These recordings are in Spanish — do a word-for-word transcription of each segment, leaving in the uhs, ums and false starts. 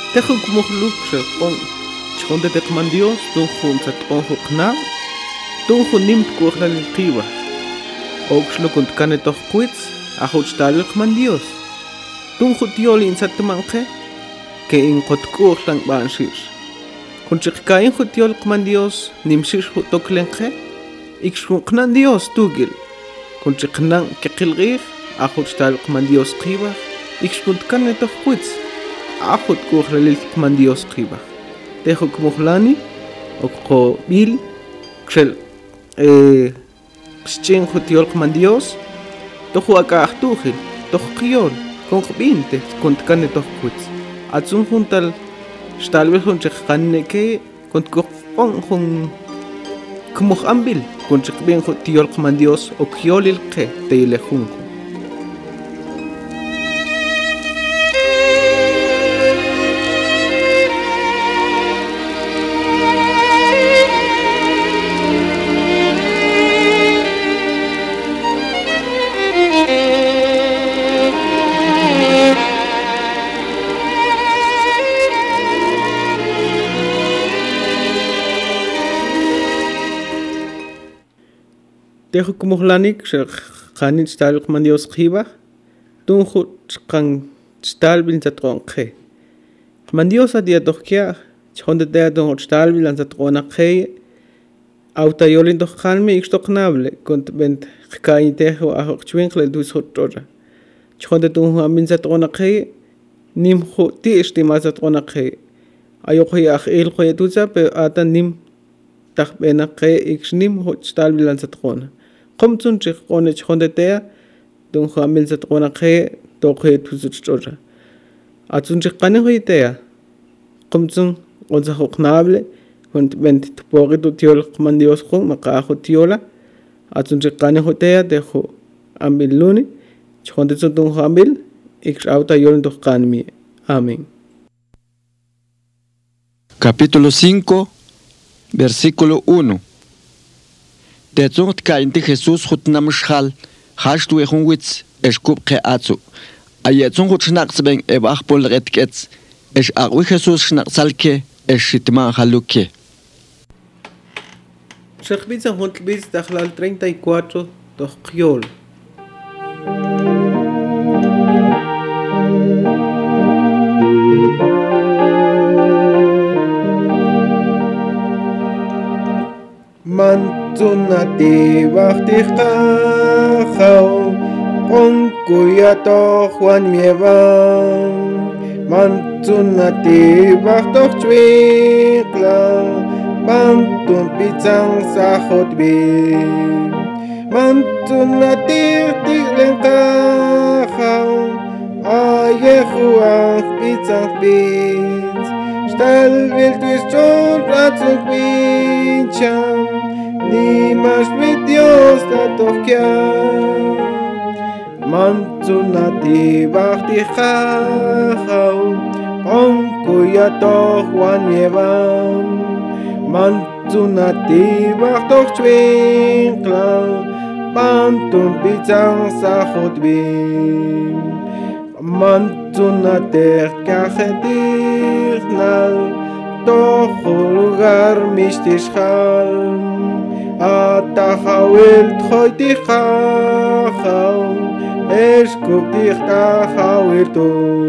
Tejo como luxe on chonde te man Dios don jun sat on hokna don jun nimt kuchla el qiwa oxlo kunt kane toch quits a hochtal man Dios don jut yoli in sat manche que in qot kuchlang ban shish kun chikain jut yol man Dios nimshish jut toklenche ikshuknan Dios tugil kun chiknan ke qilgir a hochtal man Dios qiwa ikshkunt kane toch quits Ajo kuchrelil man Dios qiba. Tejo kumuhlani o bil xel eh xchen jutiol man Dios. Tojo aka ahtujil, tojo qiol, con binte, con tkane tojo kuts. Atsun juntal stalvel con chekhanne ke con kon con kumuh ambil con chekben jutiol man Dios o qiolil ke teile junko. Tejo kumuhlanik xanin stal man Dios qiba tunju chqan stal bil zatronqe man Dios adia tokia chonde te don stal bil zatrona qe auta yolin toqalmi ixtoqnable kont bent qkain tejo a chwinqle dus hotora chonde tunju amin zatrona qe nim khu ti estima zatrona qe ayo qe akh el qe tuza pe ata nim taqbena qe ixnim stal bil zatrona Komtun chik one chonde tea don hamil zatrona qe toqe tuzuchora atun chik qane hoitea komtun onza hoqnable kont bent tporitu tiol man Dios khon maqa hotiola atun chik qane hotea dejo ambil luni chonde don hamil ix auta yol do qanmi amén. Capítulo cinco versículo uno. Tetzongt kainti Jesús hutnamshal hashtu ehunwitz eshkup ke atzu ayetzon hutschnaxben ebachpol retketz esh agwi Jesús schnaxalke eshitma haluke Shekbitza hontbitz dakhlal treinta y cuatro toqiol Mantunati baktiqa khaw onkuya to Juan mievan Mantunati baktok chwikla Mantun pizzang sahot bi Mantunati tiklenka khaw ayehuach pizzang pizz Stal wild is chon platzuk pincham Ni más mi Dios la toquia Mantunati bakti khau Onkuya to Juan mievan Mantunati baktok chwinkla Pantun pizzang sahot bin Mantunater kajetirnal Toho lugar mistishal Atahawil tchoyti khau Eshkup dikhta khawirtu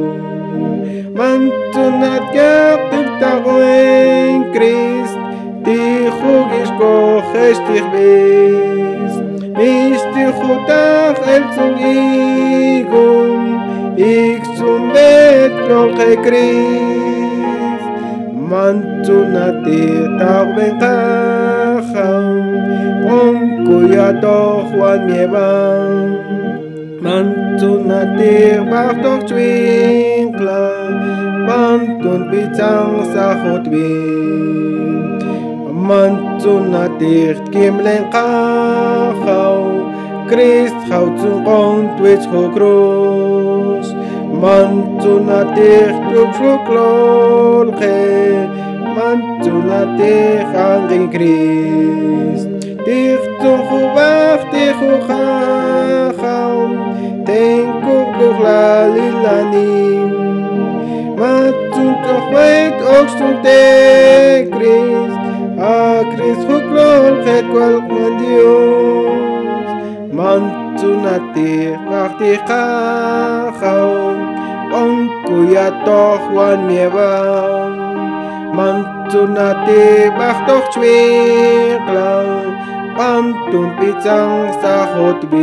Mantunat yaktib tagoen Christ Tichug ishkoch eshtich bis Mistichutach el zungigum Ik zum bet lolche Christ Mantunati tagben khau Onkuya to Juan mievan Mantunati baktok chwinkla Pantun pizzang sahot bin Mantunati kimlen khau Christ houtzun qont wich ho cruz Mantunati tukfluklol khe Mantunati angin Christ Dichtun khubach dichu kham Tenku kuhlalilanim Matun toch oxtunte Chris, a Chris huklol het kwal man Dios, mantunati bakti kahaw, onkuya toch wan miewang, mantunati baktoch chwiklang, pantun pichang sa hotbi.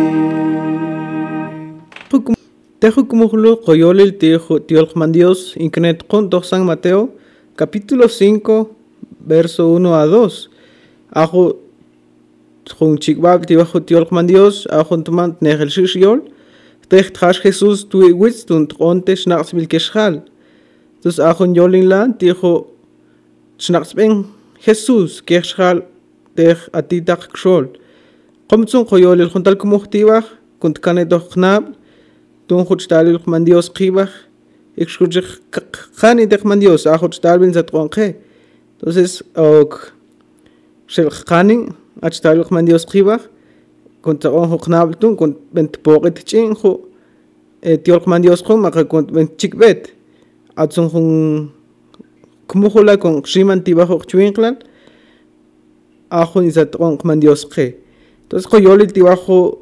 Tejo como lo coyolil tejo tiolman Dios internet con dos San Mateo capítulo cinco verso uno a dos. Ajo con chikbab tibajo tiolman Dios ajo tomant negel shishol techt has Jesús tu wits und onte schnachs mil keschal. Dus ajo yolin la tijo schnachs ben Jesús keschal tech atitak xol. Komtsun coyolil juntal como tibaj kunt kane doch knab Don goed stalil man Dios qibaj excurge khani de man Dios a goed stalbin zat qonqe entonces ok shel khani at stalil man Dios qibaj kont on ho knabtun kont bent poqit chin ho tiol man Dios qom ma kont bent chikbet at son hun kumuhula kon shiman tibaj ho chwinklan a hun zat on man Dios qe entonces ko yoli tibaj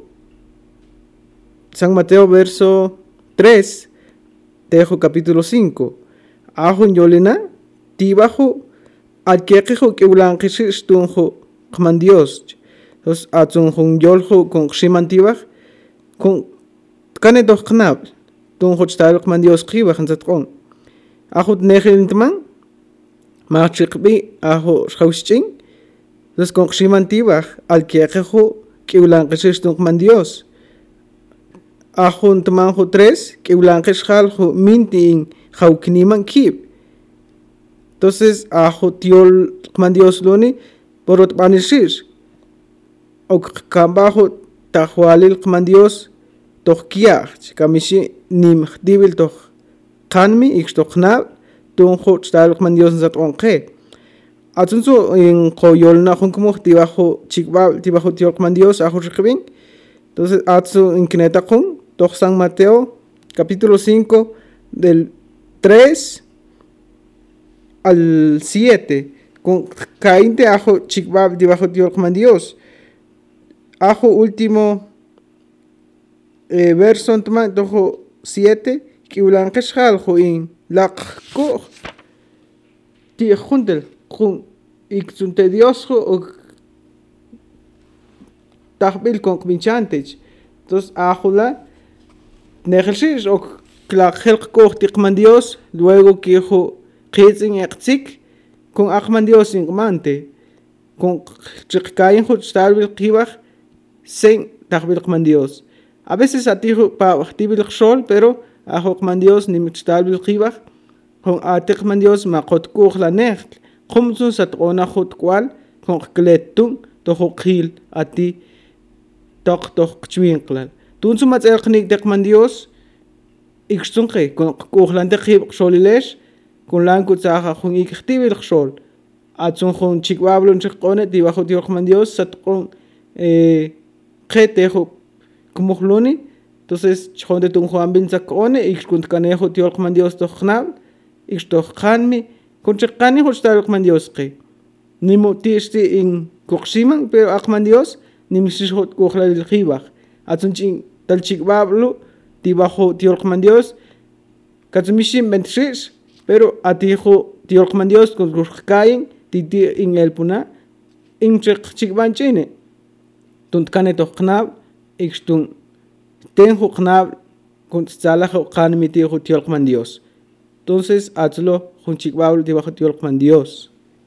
San Mateo verso tres, Tejo capítulo cinco. Ahun yolina, tibajo, alquejo que blanquesis tunjo, man Dios. Entonces, atzunjun yoljo con shiman tibaj, con cane doch knab, tunjo stal man Dios kibaj en zatron. Ahut negelintman, machikbi, aho schausching, entonces con shiman tibaj, alquejo que blanquesis tunjo man Dios. Ahun tamanjo tres, que blanques jaljo minting jaukniman kib. Entonces, ajo tiol man Dios loni, porot banishis. Ok kambajo tahualil man Dios, toch kiach, kamishi nim dibil toch kanmi, ik toch nab, donjo stal man Dios zat onke. Atunso in koyol na hun como tibajo chikbal, tibajo tiol man Dios, ajo shikbing. Entonces, atsu in kinetacon, doch San Mateo, capítulo cinco, del tres al siete, con cainte ajo chikbab debajo de Dios. Ajo último eh, verso, entonces, dojo siete, que ulankesh haljo in lakko, ti juntel, jun, ikzunte Dios, o tahbil con kminchantes. Entonces, ajo la, Negelsis ook klaar gelgekocht man Dios, luego que jo kitzing ekzik, con achman Dios in mante, con chikayin jo stalbil kibach, sen tachbil man Dios. A veces a ti pa tibil xol, pero a jo man Dios ni mit stalbil kibach, con a tek man Dios ma kot koch la necht, komsun sat ona hot kwal, con kletung, to ho khil a ti toch toch chwinklal. Toen ze met elke dek man Dios, ik stond ge, kon kooglan de geef soliles, kon lang goed zeggen, kon ik echt wil gesol. At zo'n gewoon chikwabelon zich kon het, die wacht die man Dios, zat kon ge tegen kumogloni, entonces gewoon de toen gewoon bin zak kon, ik kon kan echt die man Dios toch knal, ik toch kan me, kon zich kan niet goed stel man Dios ge. Nimo tieste in koksiman, pero ak man Dios, nimo zich goed kooglan de geef. At zo'n ching tal chikbablo tibajo tiolkman Dios katsumishim bentrish pero atijo tiolkman Dios con kain titi in el puna in chikban chine tunt kane to knab ikstun tenjo knab con tsalajo kan mi tijo tiolkman Dios. Entonces hazlo con chikbablo tibajo tiolkman Dios.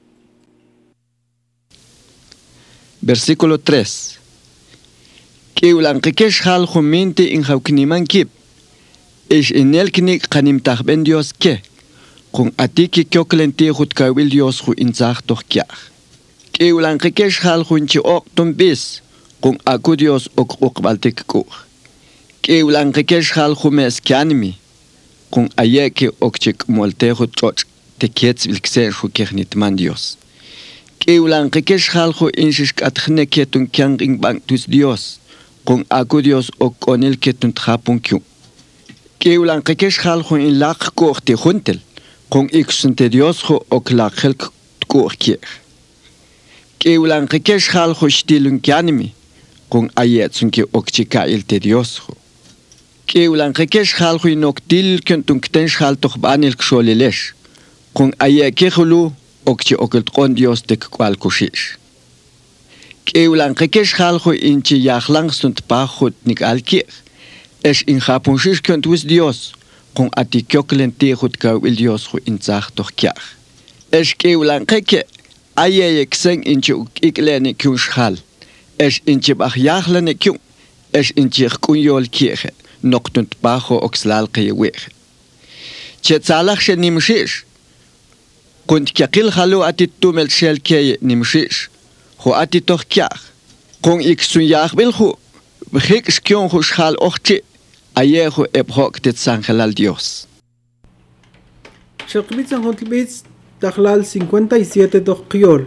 Versículo tres. Que ulankesh hal jumente in haukniman kip. Es en el kni kanim tahben Dios ke. Con atiki kyoklente hut kawil Dios hu in zach doch kya. Que ulankesh hal hunchi ok tumbis. Con aku Dios ok okbaltek ko. Que ulankesh hal humes kyanmi. Con ayeke okchik molte hut choch te kiets vilksen hu kernit man Dios. Que ulankesh hal hu inshish atkhne ketun kyang ing bang tus Dios. Con aku Dios o con el que tunt japun kyu. Que ulan kekesh hal hun in lak kochte huntel. con ixunte Dios ho oklachel tkukier. Keulan kekesh hal ho stilun kianimi con ayetsun ki okchika il te Dios ho. Keulan kekesh hal ho inoktil kentun ktensh hal tokhbanil ksholeles con ayekehulu okchi okeltkon Dios tek kwal kushish. Keulan kekesh hal ho inchi yahlang sunt pahut nik alkier. Es in Japonsisch könnt wis Dios con atikyoklen tehut ka il Dios ho in zach doch kiach. Es keulan keke aye kseng inchi iklene kunshal. Es inchi bach yachlene kun. Es inchi kunyol kirche noktunt bajo oxlal kewech. Chetzalach she nimshish. Kunt kyakil halu atitumel shel keye nimshish. Ho atitoch kiach. Con iksun yach bil ho. Bkhik skyon ho shal ochchi. Ayejo epoch de Sangelal Dios. Shakbit San Hotlbits Tahlal cincuenta y siete Dokiol.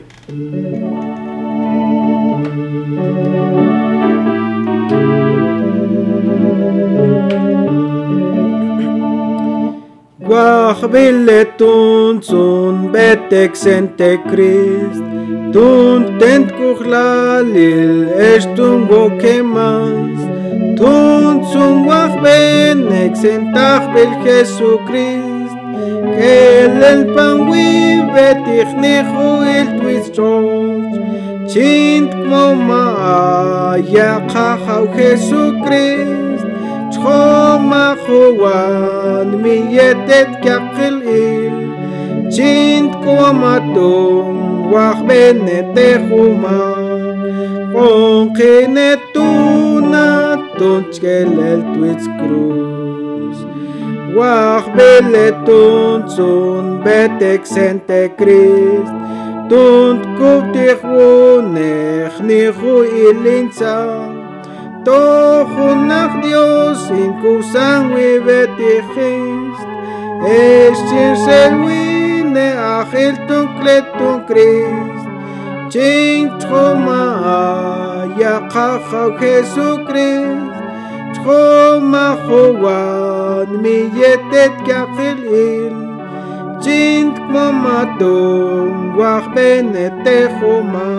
Guachbilletun sun betek sente Christ. Tun tent kuchlalil estun gokemas. Tun zum wach benek sentach bel Jesucrist. Kel el pangui betich nechu el twistos. Chint kmoma ya chachau Jesucrist. Choma chuan mi yetet kakil il. Chint kmoma tung wach benetechuma. Con kinetuna tunchkel el twitz cruz. Wach beletun sun betek sente Christ. Tunt kuptich wunech nichu ilinza. Tochunach Dios in kusangwi betichist. Eschin selwine achil tunkletun Christ. Ching choma ya chachau Jesucrist. Choma chuan mi yetet kakil il. Ching kmomatung wach benete choma.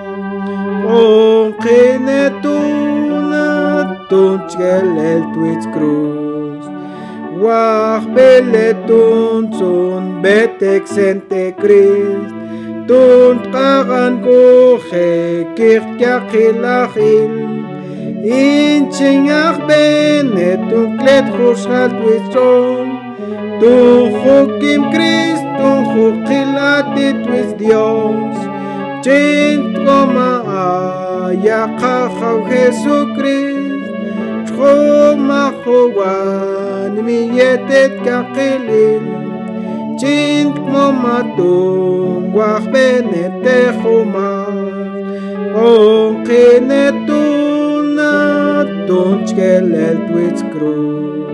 Onkinetuna tunchkel el twitz cruz. Wach beletun sun betek sente Christ. Tunt kagan kuche kirkyakilachil. Inchingach benet tunklet chushal twistron. Tunchukim Christ tunchukilatit with Dios. Chint goma ayakachau Jesucrist. Choma chuan mi yetet kakilil. Chint momatung wach benetechuma. Onkinetuna tunchkel el twitz cruz.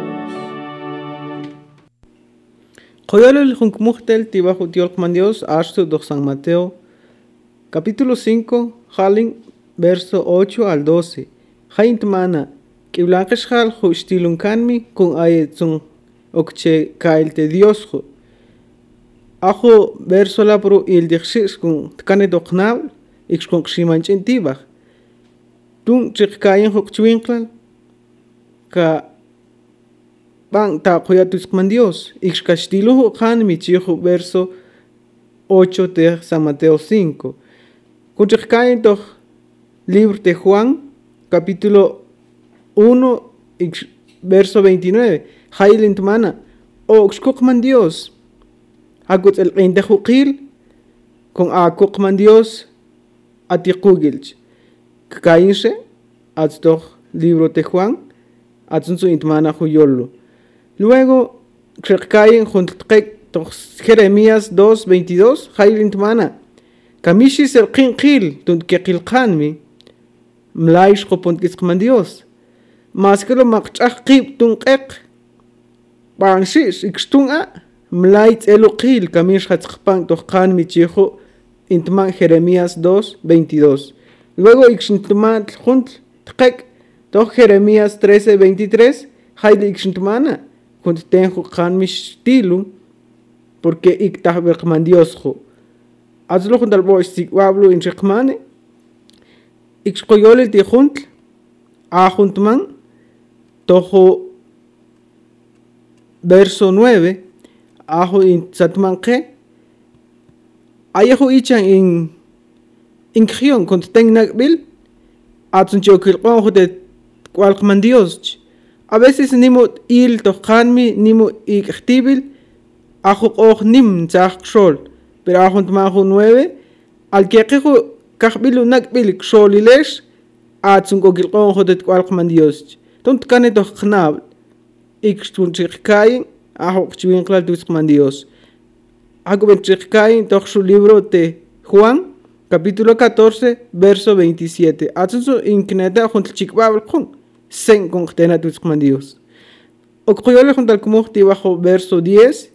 Koyal el junkmuchtel tibajo tiolkman Dios ashtu do San Mateo capítulo cinco halin verso ocho al doce. Haint mana kiblankesh hal hu stilunkanmi kun ayetsun okche kailte Dios hu. Ajo verso la pro il dixis kun tkane doknal ix kun ximanchin tibach. Tun chikayen huk chwinklan ka bang ta koyatus man Dios ix kastilo hu khan mi chihu verso ocho de San Mateo cinco. Kun chikayen doch libro de Juan capítulo uno ix verso veintinueve. Hailint mana o xkukman Dios. Hagut el qindejuqil con a kukman Dios atiqugilch. Kakainse atstoch libro de Juan atsunsu intmana huyolo. Luego krekayen juntek toch Jeremías dos veintidós hailint mana. Kamishis el qinqil tunt keqilqanmi mlaish qopont kisqman Dios. Maskelo maqchaq qib tunqeq Bangshish ixtunga mlait eluqil kamish hatzqpan toqan michijo intman Jeremías dos veintidós. Luego ixintman junt tqek to Jeremías trece veintitrés haile ixintmana kunt tenjo qan mishtilu porque iktahbelkman Dios jo. Azlo juntal boy si wablo in rekmane. Ixkoyole ti juntl. A juntman. Tojo verso nueve. Ajo in satmanke. Ayajo ichan in in krion kont tengnakbil. Atsun chokil qonjo de kwalkman Dios. A veces nimo il tokanmi nimo iktibil. Ajo och nim zach xol. Pero ajo tmajo nueve. Al que quejo kahbilu nakbil xolilesh. Atsun kokil qonjo de kwalkman Dios. Tont kane toch knab. Ik stun chikain. Ajo chwin klal tuskman Dios. Hago ben chikain toch su libro de Juan. Capítulo catorce, verso veintisiete. Atsun inkneta junto chikbabel con. Sen con tena tuskman Dios. Okuyole junto al kumuhti bajo verso diez.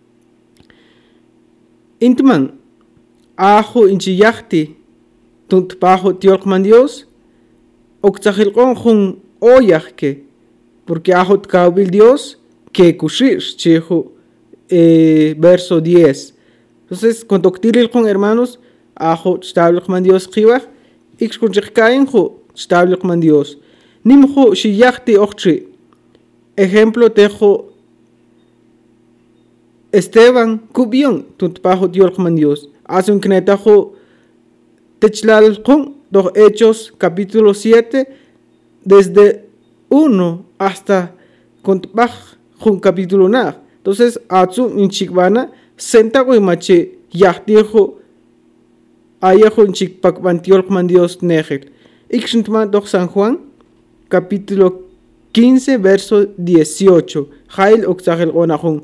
Intman. Ajo inchiyahti. Tunt bajo tiolkman Dios. Okzahil con jun oyahke. Porque ajo tkaubil Dios. Que kushish chihu. Eh, verso diez. Entonces, cuando octiril con hermanos. Ajo tablikman Dios kiwach. Ix kun chikain jo tablikman Dios. Nimjo shiyahti ochchi. Ejemplo tejo Esteban Cubión, tuntpajo Diolkman Dios. Hace un knetajo techlal con dos Hechos, capítulo siete, desde uno hasta contpaj con capítulo na. Entonces, Atsu in chikbana, sentago y mache yahtijo ayajo in chikpakban Diolkman Dios negel. Ixntman doch San Juan, capítulo quince, verso dieciocho. Jail oxagel onahun.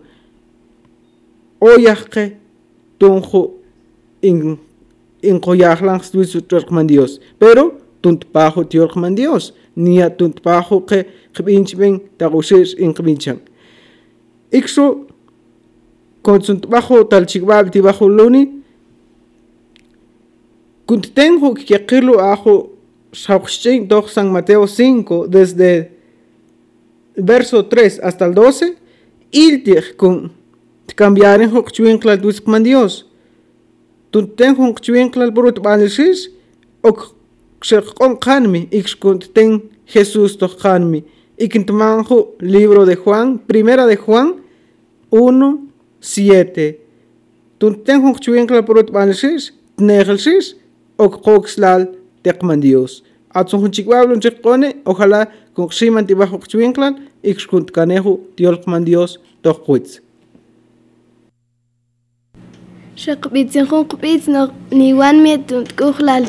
Oyahke tunjo in in koyahlan stuisu Diolkman Dios. Pero tuntpajo Diolkman Dios. Nia tuntpajo ke kbinchben tagushes in kbinchan. Ixo konsuntpajo talchikbab tibajo luni. Kuntenjo kikilo ajo Shaukshin doch San Mateo cinco, desde el verso tres hasta el doce, iltir con cambiar en Hokchuinkla Duskman Dios. Tunten Hokchuinkla Brut Balishis, ok Shekon Kanmi, Ixkunten Jesús doch Kanmi, Ikintmanjo, libro de Juan, primera de Juan uno, siete. Tunten Hokchuinkla Brut Balishis, Negelsis, ok Hoxlal. Tekman Dios. Atsun chikwablon chikone, ojalá con ximan tibajo chwinklan, ixkunt kanehu Diolkman Dios tokwitz. Shakbitzin hunkbitz no niwan mietunt kuhlal.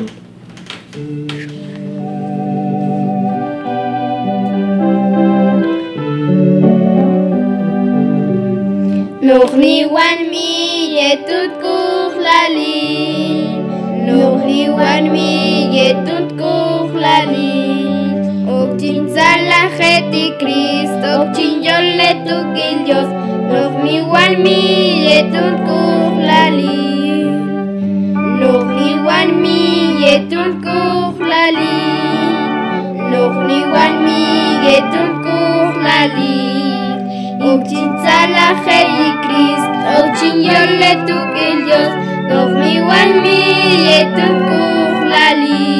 Nog niwan mietunt kuhlali. Nog niwan mietunt kuhlali. Ok chinzala jeti Cristo, ok chinyolle tu Dios. Nog niwan mietunt kuhlali. Nog niwan mietunt kuhlali. Nog niwan mietunt kuhlali. Ok chinzala jeti Cristo, ok chinyolle tu Dios. Nog niwan mietunt kuhlali.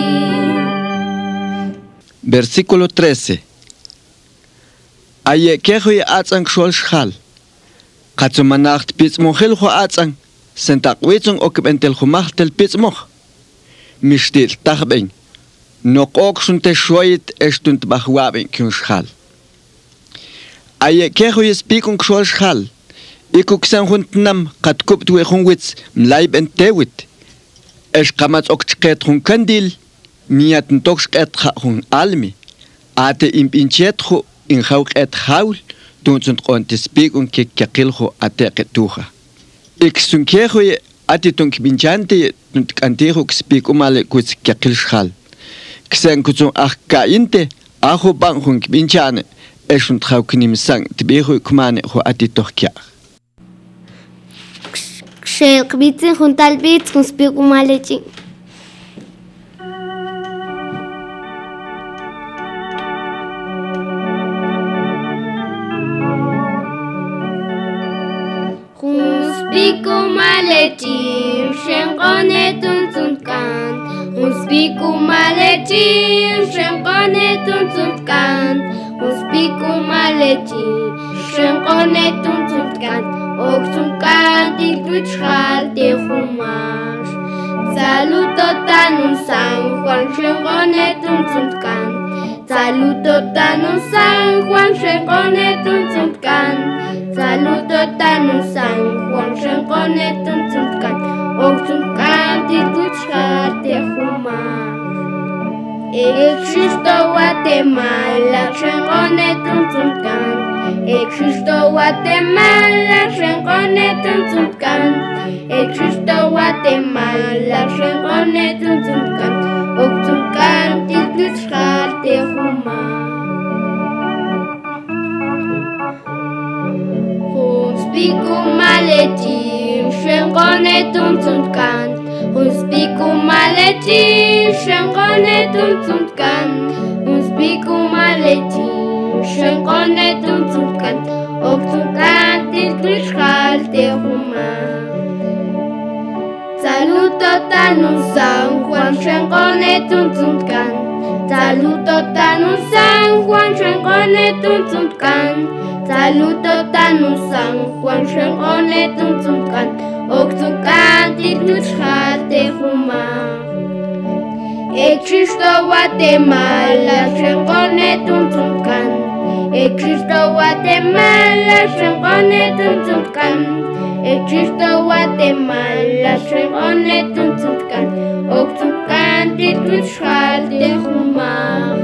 Versículo trece. Aye kejo ye atzang shol shal. Katsumanacht pitzmochel ho atzang. Sentak witzung okbentel humachtel pitzmoch. Mishtil tachben. Nok ok sunte shoyit estunt bachwaben kun shal. Aye kejo ye spikung shol shal. Ikuk san huntnam kat kupt we hungwitz mlaib entewit. Esh kamats okchket hun kandil. Miat toks et hun almi. Ate im pinchetjo in hauk et haul. Tunzunt on te speak un ke kakiljo ate ketuja. Ik sunkejo ye ati tunk binchante tunt kantejo speak umale kuts kakil schal. Ksen kutsun ach kainte aho bang hun binchane. Esunt hauk nim sang tibejo kumane ho ati tohkia. Shakbitzin juntal bits kun speak umale ching. spiku maletim, shenqonetun tzuntkan. Un spiku maletim, shenqonetun tzuntkan. Un spiku maletim, shenqonetun tzuntkan. Ok tzuntkan tiltuchal te humash. Salutotan un San Juan, shenqonetun tzuntkan. Salutotan un San Juan, shenqonetun tzuntkan. Salutotan un San Juan, shenqonetun tzuntkan. Ok tzuntkan tiltuchal te humash. Existo Guatemala, shenqonetun tzuntkan. Existo Guatemala, shenqonetun tzuntkan. Existo Guatemala, shenqonetun tzuntkan. Ok tzuntkan tiltuchal te humash. Spiku maletim, shenqonetun tzuntkan. Un spiku maletim, shenqonetun tzuntkan. Un spiku maletim, shenqonetun tzuntkan. Ok tzuntkan tiltuchal te humash. Salutotan un San Juan, shenqonetun tzuntkan. Salutotan un San Juan, shenqonetun tzuntkan. Salutotan un San Juan, shenqonetun tzuntkan. Ok tzuntkan tiltuchal te humash. Existo Guatemala, shenqonetun tzuntkan. Existo Guatemala, shenqonetun tzuntkan. Existo Guatemala, shenqonetun tzuntkan. Ok tzuntkan tiltuchal te humash.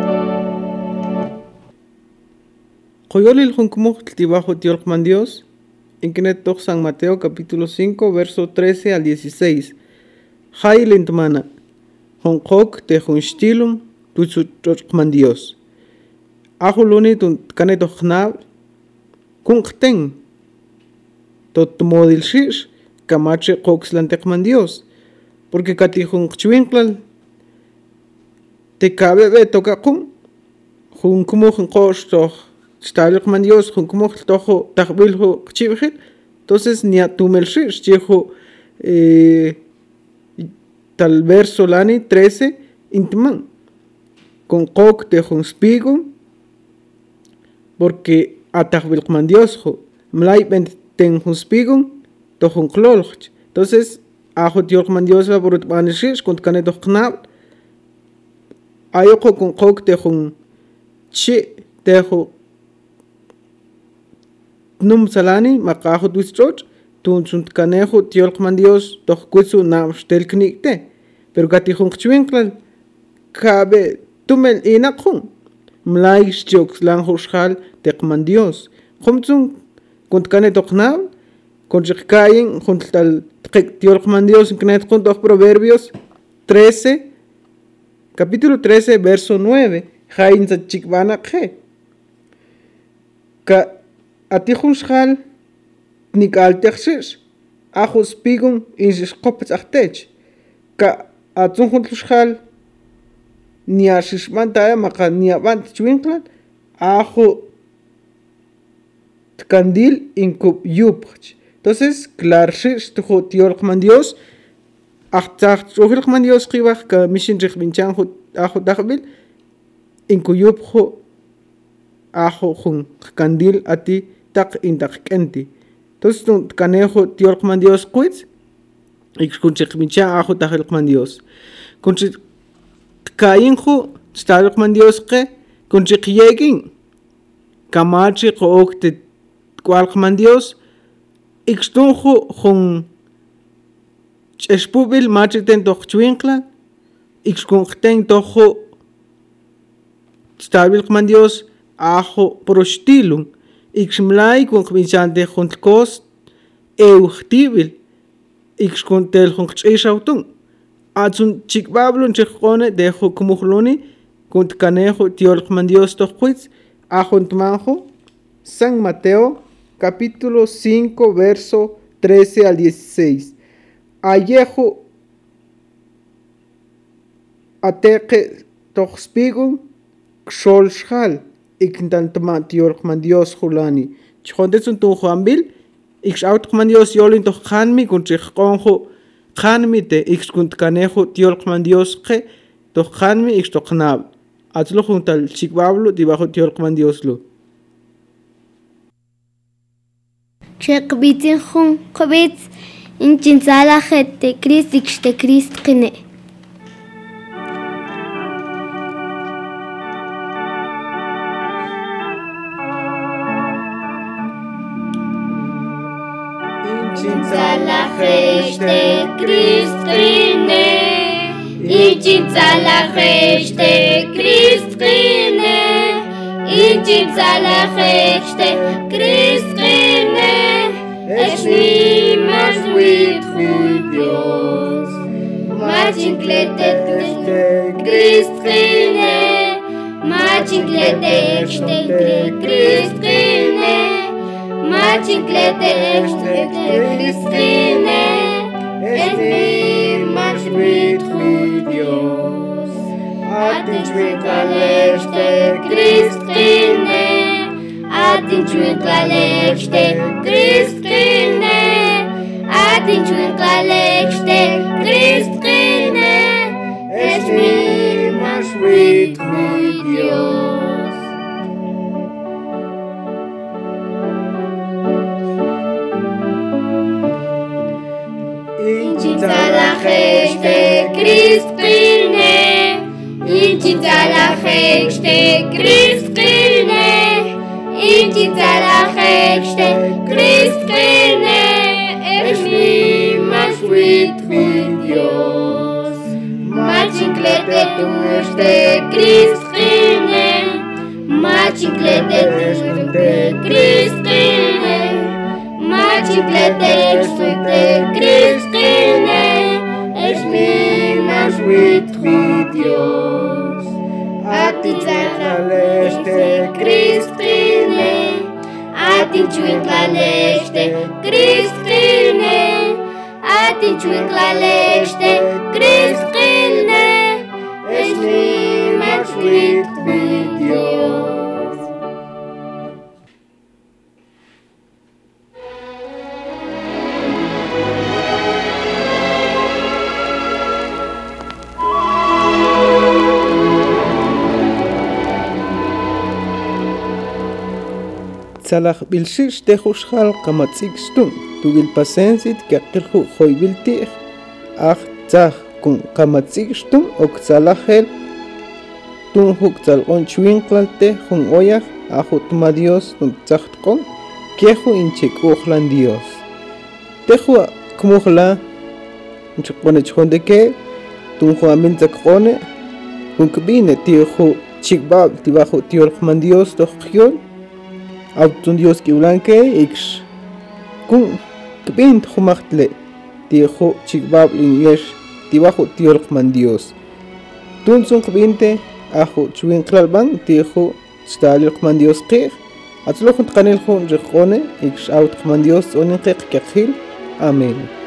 Coyolil Juncumuchtl tibajo tiolkman Dios, en Kenetok San Mateo capítulo cinco, verso trece al dieciséis. Hailintmana, Jonkok te Junstilum, Tutsuchokman Dios. Ajuluni tun Kanetok Nab, Kunkten, Totmodil Shish, Kamache Koxlantekman Dios, porque Katijun Chwinklal, te cabe be toca kun, Juncumuch Kostoch. Stalokman Dios, Juncumuchtl tojo tahbiljo chivjil, entonces ni a tumelshir, chijo eh, tal verso lani trece, intman, con kok de junspigo, porque a tahbilkman Dios, jo, mlai ten junspigo, to junklolch, entonces a jotiolkman Dios va por utmanishish, con caneto knab, ayoko con kok de jun chi, tejo num salani maqajo duistroch tun sunt canejo tiolkman Dios toch kuitsu nam stel knikte pero gati jun chwinklan cabe tumel inakun mlai chok lang hoshal tekman Dios khumtsun kunt kane toknal kun jikayin juntal tiolkman Dios knet kun toch Proverbios trece capítulo trece verso nueve jain sa chikbana khe ka Atijun schal nik altexis, ajos pigun in sis kopets achtech. Ka atjun schal ni asis mantaya maka ni avant chwinklan, ajo tkandil in kup yupch. Entonces, clarsis tujo tiolkman Dios, achtach tuolkman Dios kibach ka mishin rikbinchan ajo dagbil, in kuyupjo ajo jun kandil ati tak intak kenti. Entonces, tu canejo tiolkman Dios quits, y kunchikmicha ajo tajelkman Dios. Kunchik kainjo, stalkman Dios que, kunchik yegin, kamachi kookte kwalkman Dios, ixtunjo jun espubil machiten toch chwinkla, ixkunkten tojo stalkman Dios, ajo prostilum, ixmlai kun kmichante juntkos euchtibil ixkuntel junkshautun atsun chikbablun chikone dejo kumuhluni kunt kanejo tiolkman Dios toquits ajuntmanjo San Mateo capítulo cinco verso trece al dieciséis. Ayejo ateque toxpigun xolshal ikntantma tiolkman Dios julani chondesun tu juanbil ix autman Dios yolin to khanmi kun chiqonjo khanmi te ix kunt kanejo tiolqman Dios qe to khanmi ix to qnab atlo juntal chikbablo debajo tiolqman Dios lo Chekbitin khun qbits inchin sala khete Christ ix te Christ qine Inchintzalajeste Cristrine, Inchintzalajeste Cristrine, Inchintzalajeste Cristrine, es ni más with Dios, Machinklete Cristrine, Machinklete Cristrine, Machinklete Cristrine, es mi más with Dios. Atinchwitlalechte Cristrine, Atinchwitlalechte Cristrine, Atinchwitlalechte Cristrine, es mi más with Dios. Inchintzalajeste Cristrine, Inchintzalajeste Cristrine, Inchintzalajeste Cristrine, es mi más with Dios. Machinklete tuste Cristrine, Machinklete tuste Cristrine, Machinklete tuste Cristrine, es mi más with Dios. Atinchwitlalechte Cristrine, Atinchwitlalechte Cristrine, Atinchwitlalechte Cristrine, es mi más with Dios. Salak bilshish te khushal kamatsik stum tugil pasensit kakilhu khoybilti ach tsah kun kamatsik stum ok salahel tun huk salqon chwinqlalte hun oyaj ahut ma Dios tun tsahtqon kehu inchik ukhlan Dios tehu kumukhla nchqone chonde ke tun hu amin tsaqone kun kbine tihu chikbab tibahu tiolkhman Dios to khyon Autun Dios que blanque ix kun kbint khumachtle tiho chikbab linyesh tibajo tiolqman Dios tun sun kbinte ajo chwin klalban tiho stalilqman Dios qih atlo khunt qanil khun rikhone ix aut qman Dios onin qih kakhil amen